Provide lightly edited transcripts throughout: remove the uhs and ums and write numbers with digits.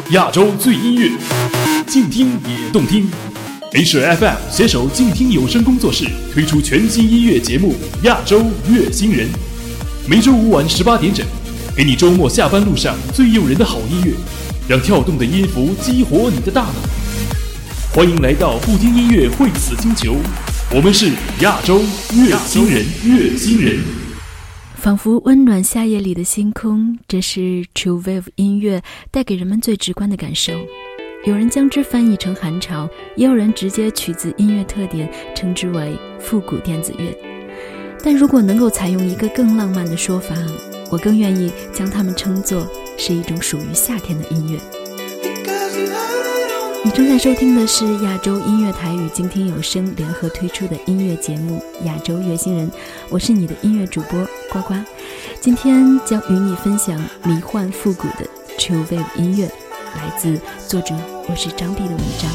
亚洲最音乐，静听也动听。H2FM 携手静听有声工作室推出全新音乐节目《亚洲乐星人》，每周五晚18点整，给你周末下班路上最诱人的好音乐，让跳动的音符激活你的大脑。欢迎来到不听音乐会死星球，我们是亚洲乐星人，乐星人。 仿佛温暖夏夜里的星空，这是 True Wave 音乐带给人们最直观的感受。有人将之翻译成韩潮，也有人直接取自音乐特点称之为复古电子乐。但如果能够采用一个更浪漫的说法，我更愿意将它们称作是一种属于夏天的音乐。你正在收听的是亚洲音乐台与静听有声联合推出的音乐节目《亚洲乐星人》，我是你的音乐主播呱呱。今天将与你分享迷幻复古的 True Wave 音乐，来自作者我是张碧的文章。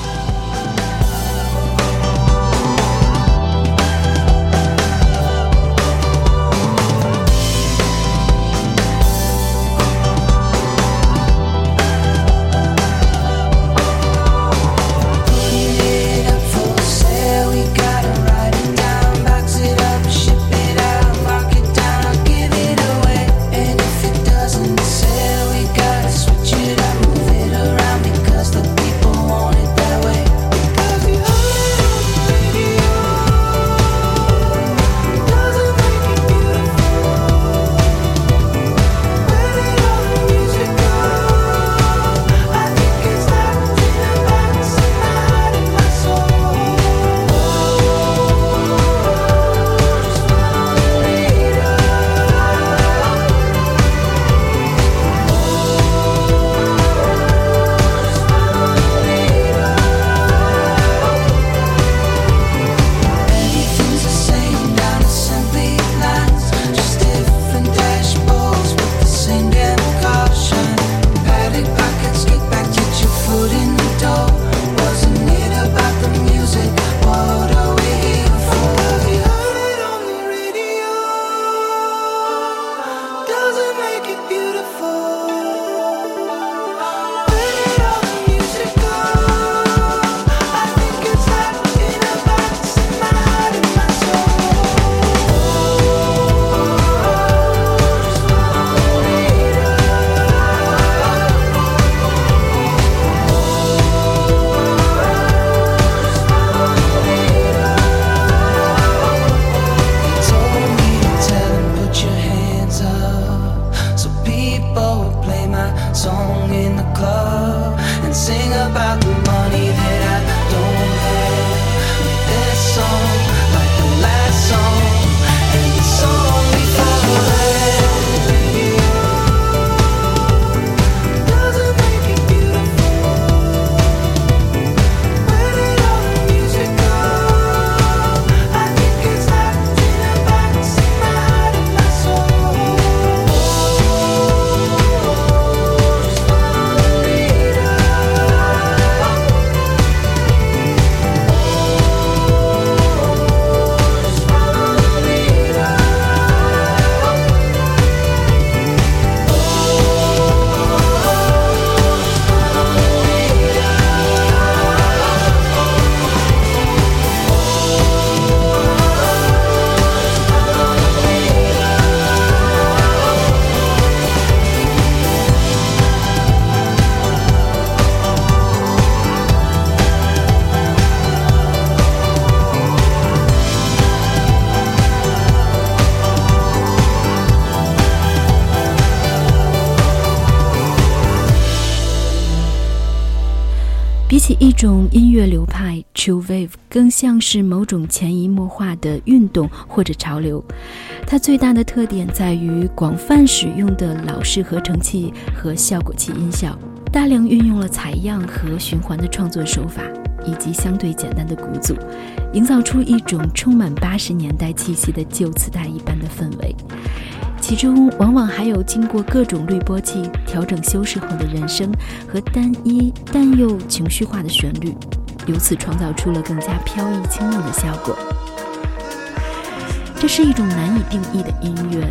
比起一种音乐流派 True Wave 更像是某种潜移默化的运动或者潮流。它最大的特点在于广泛使用的老式合成器和效果器音效，大量运用了采样和循环的创作手法，以及相对简单的鼓组，营造出一种充满80年代气息的旧磁带一般的氛围。其中往往还有经过各种滤波器调整修饰后的人声和单一但又情绪化的旋律，由此创造出了更加飘逸轻柔的效果。这是一种难以定义的音乐，它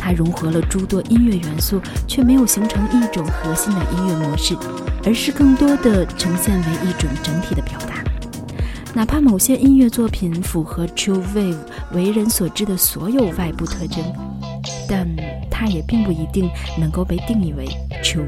它融合了诸多音乐元素，却没有形成一种核心的音乐模式，而是更多的呈现为一种整体的表达。哪怕某些音乐作品符合 Chill Wave 为人所知的所有外部特征，但它也并不一定能够被定义为 Chill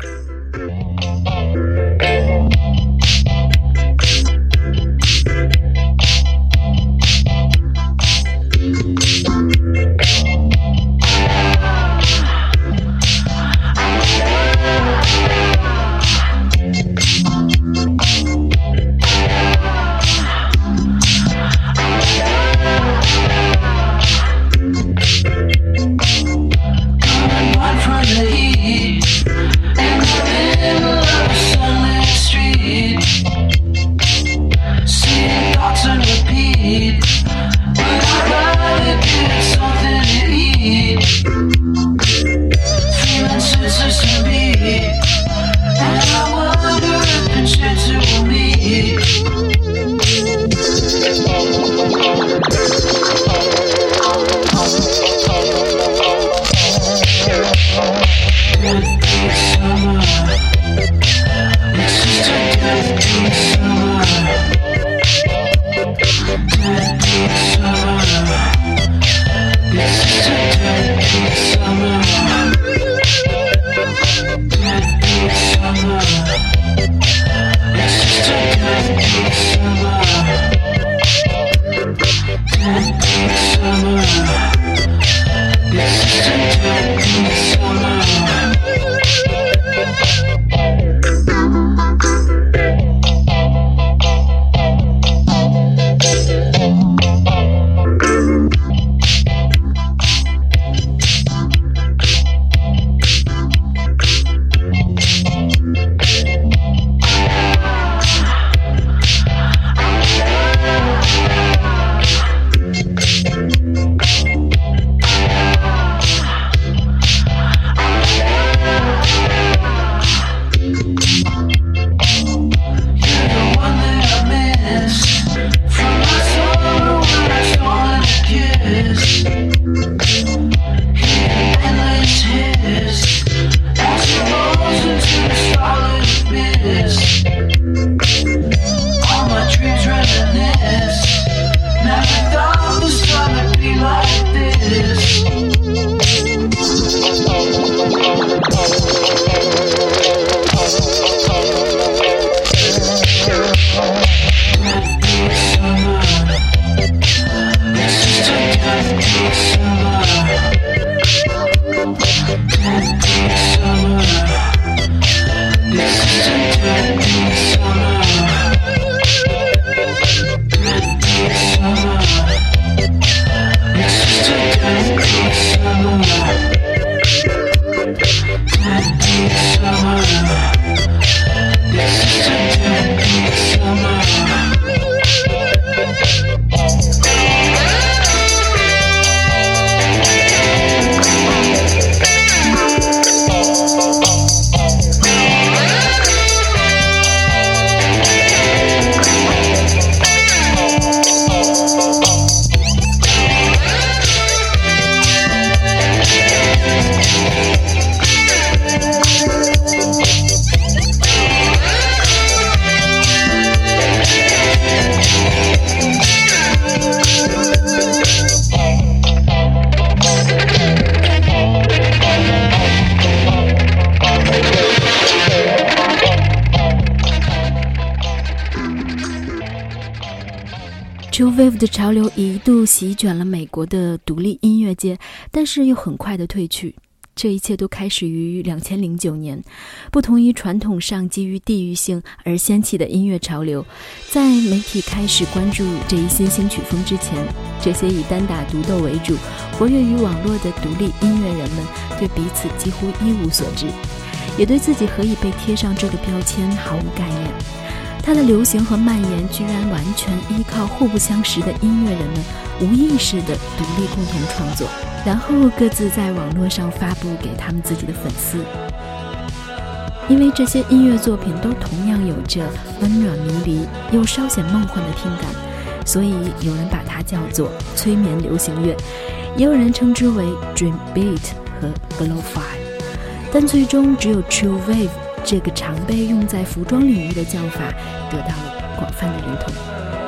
Wave。Chill Wave 的潮流一度席卷了美国的独立音乐界，但是又很快的退去。这一切都开始于2009年，不同于传统上基于地域性而掀起的音乐潮流，在媒体开始关注这一新兴曲风之前，这些以单打独斗为主、活跃于网络的独立音乐人们对彼此几乎一无所知，也对自己何以被贴上这个标签毫无概念。它的流行和蔓延居然完全依靠互不相识的音乐人们无意识的独立共同创作，然后各自在网络上发布给他们自己的粉丝。因为这些音乐作品都同样有着温暖迷离又稍显梦幻的听感，所以有人把它叫做催眠流行乐， 也有人称之为 Dream Beat 和 Lo-Fi， 但最终只有 Chill Wave 这个常被用在服装领域的叫法得到了广泛的认同。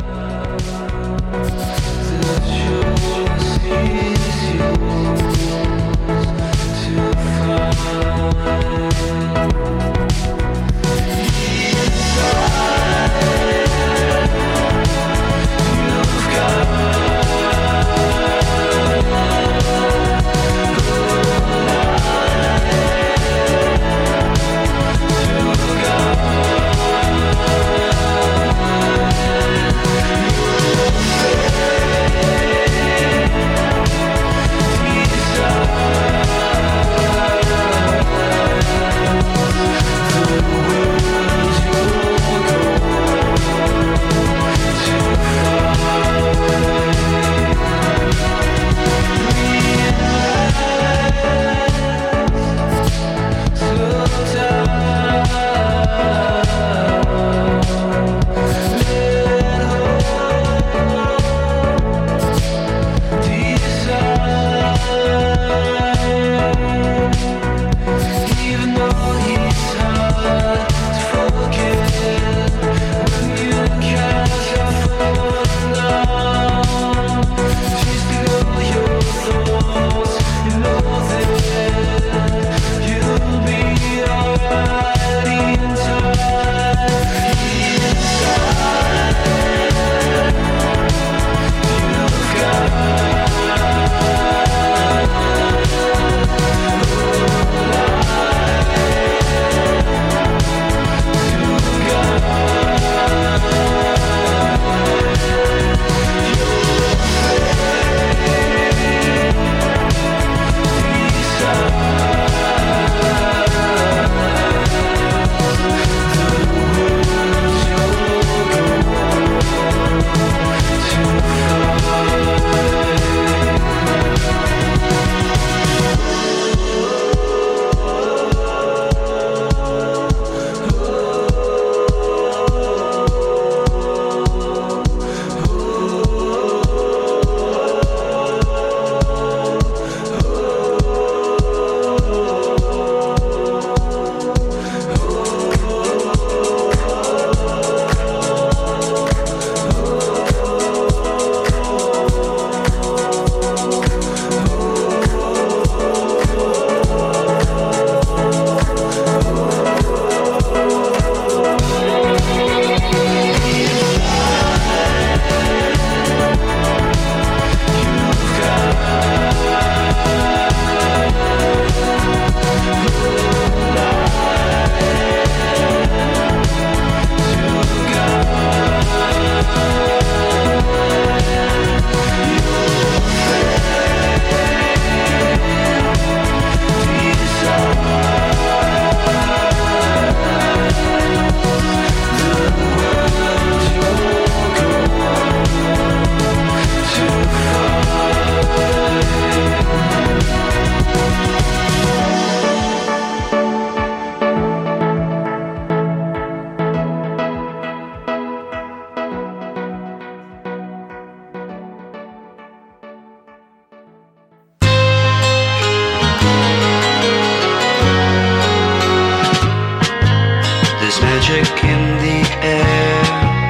magic in the air.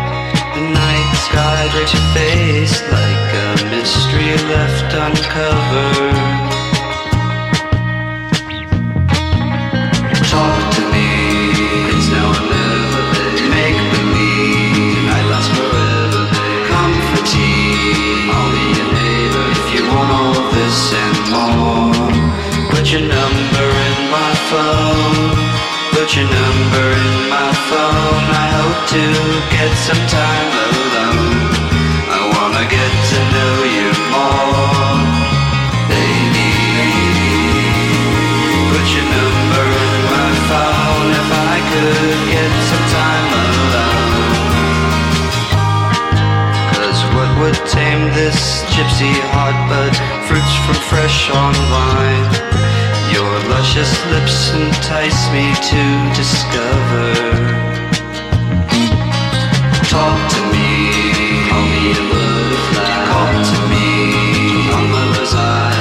The night sky drapes your face like a mystery left uncovered. Talk to me, it's now or never. Make believe, I last forever. Comfort tea, I'll be your neighbor. If you want all this and more, put your number in my phone. Put your number in my phone. I hope to get some time alone. I wanna get to know you more, baby. Put your number in my phone. If I could get some time alone. 'Cause what would tame this gypsy heart but fruits from fresh on vine? Your luscious lips entice me to discover. Talk to me, call me a butterfly. Call to me, on my lover's eye.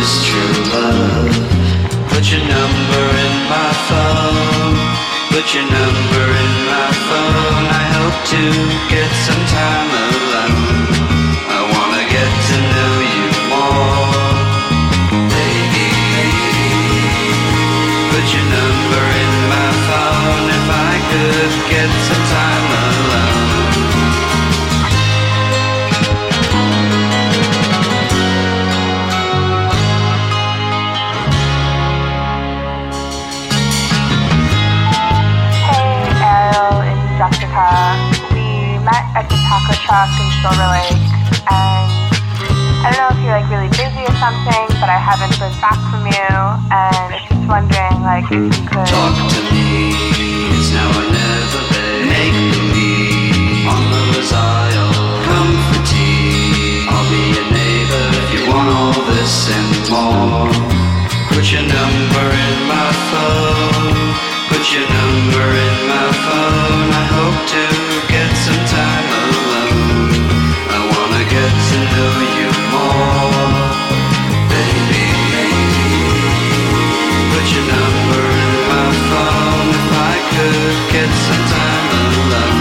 is true love. Put your number in my phone. Put your number in my phone. I hope to get some time alone. I wanna get to know you more, baby. Put your number in my phone. If I could get some time alone. Jessica. We met at the taco truck in Silver Lake, and I don't know if you're like really busy or something, but I haven't heard back from you, and I'm just wondering like if you could talk to me. It's now or never, babe. Make believe on the Rosile. Come for tea. I'll be your neighbor if you want all this and more. Put your number in my phone. Put your number in my phone. I hope to get some time alone. I wanna get to know you more, baby. Put your number in my phone. If I could get some time alone.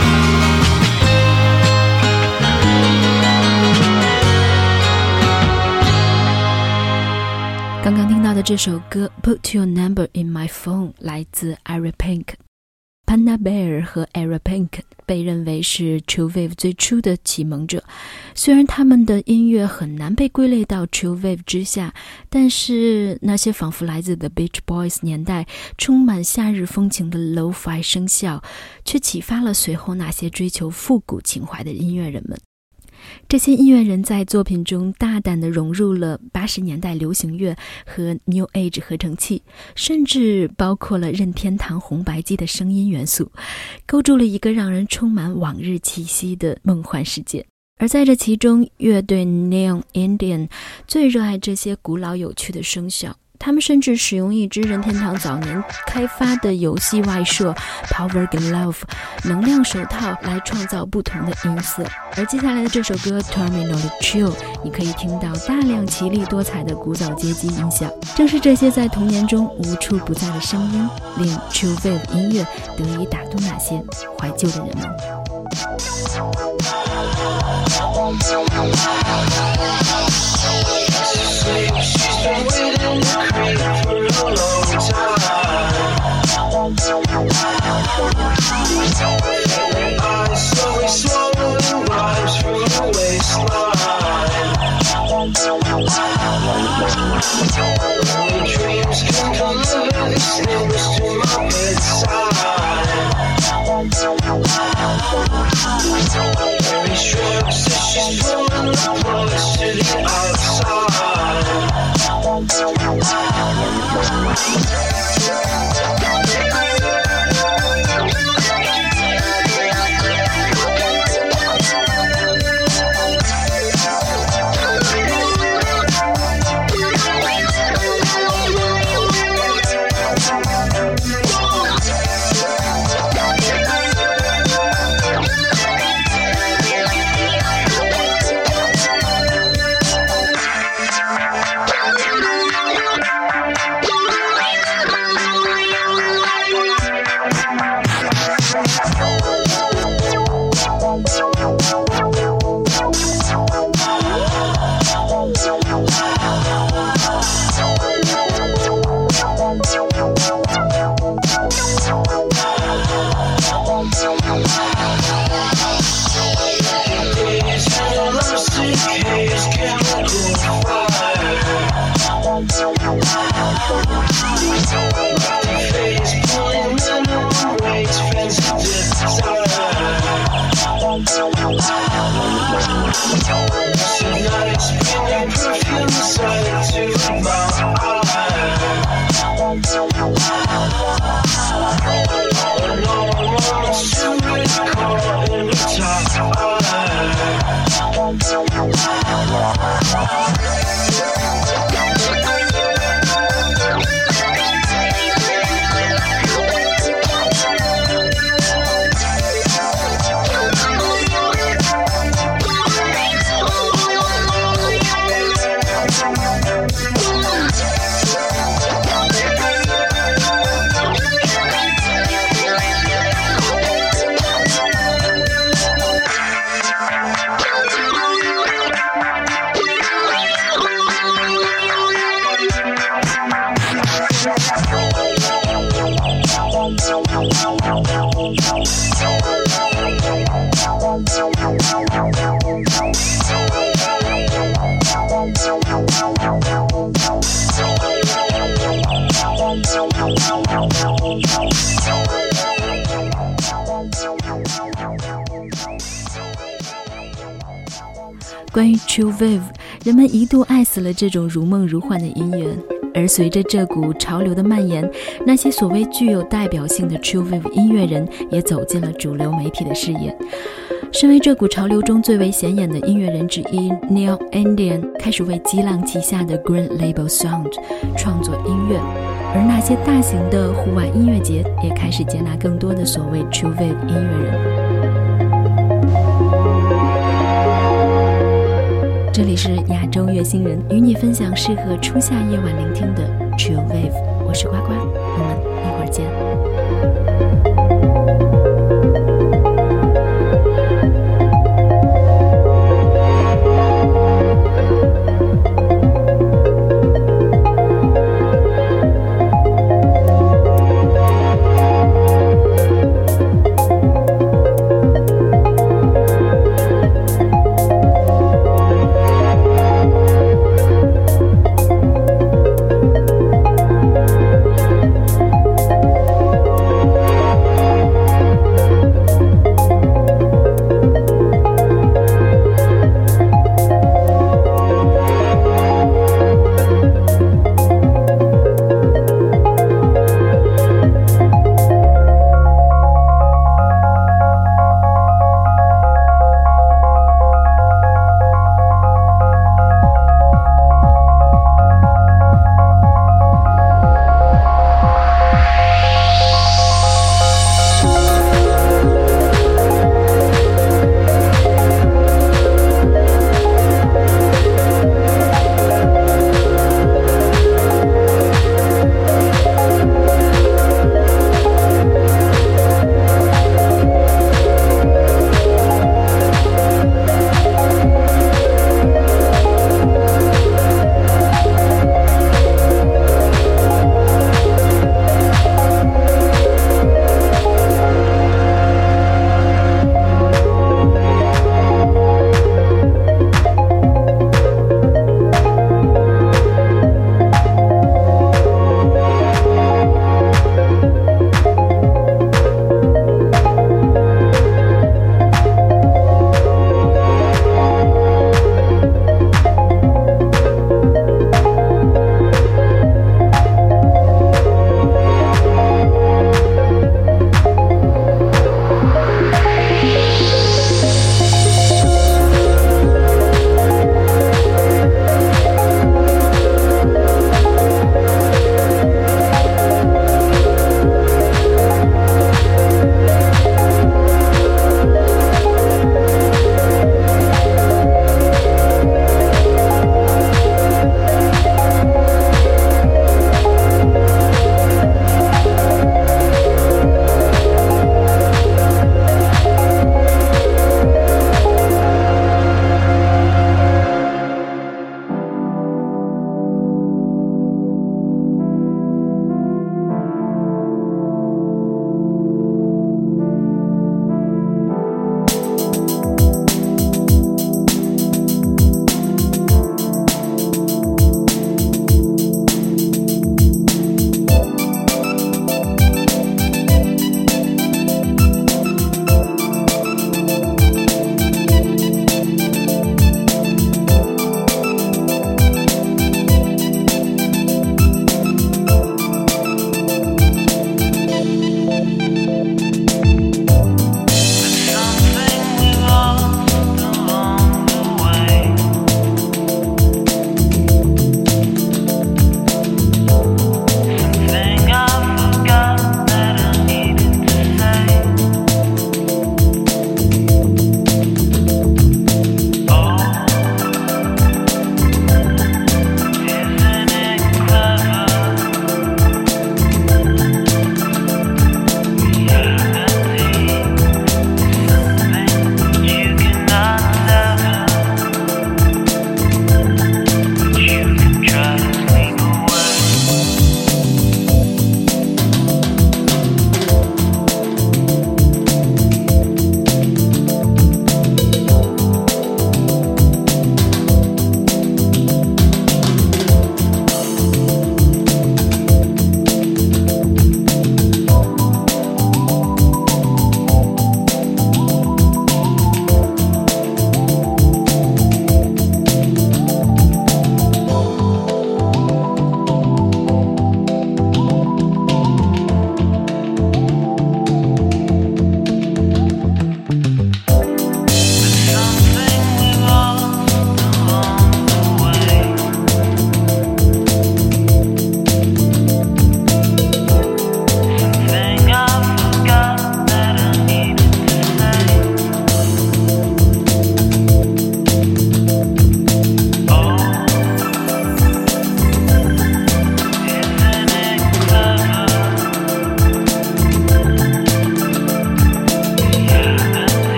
刚刚听到的这首歌 Put Your Number in My Phone 来自 Ari Pink。Panda Bear 和 Ari Pink 被认为是 True Wave 最初的启蒙者，虽然他们的音乐很难被归类到 True Wave 之下，但是那些仿佛来自 The Beach Boys 年代充满夏日风情的 Lo-Fi 声效，却启发了随后那些追求复古情怀的音乐人们。这些音乐人在作品中大胆地融入了80年代流行乐和 New Age 合成器，甚至包括了任天堂红白机的声音元素，构筑了一个让人充满往日气息的梦幻世界。而在这其中，乐队 Neon Indian 最热爱这些古老有趣的声效，他们甚至使用一支任天堂早年开发的游戏外设 Power Glove 能量手套来创造不同的音色。而接下来的这首歌 Terminal Chill 你可以听到大量奇丽多彩的古早街机音效，正是这些在童年中无处不在的声音，令 True Wave 音乐得以打动那些怀旧的人们。 She's been waiting to creep for a long time. Failing eyes slowly swallowing rhymes from her waistline. Only dreams can deliver these things to my bedside. Mary shrugs as she's pulling the plugs to the outside. Tonight's bring your perfume sight to my eye. And no one wants to recall in the top eye. 关于 Chill Wave， 人们一度爱死了这种如梦如幻的音乐，而随着这股潮流的蔓延，那些所谓具有代表性的 Chill Wave 音乐人也走进了主流媒体的视野。身为这股潮流中最为显眼的音乐人之一， Neil Indian 开始为激浪旗下的 Green Label Sound 创作音乐，而那些大型的户外音乐节也开始接纳更多的所谓 Chill Wave 音乐人。这里是亚洲乐星人，与你分享适合初夏夜晚聆听的 Chill Wave， 我是呱呱，我们一会儿见。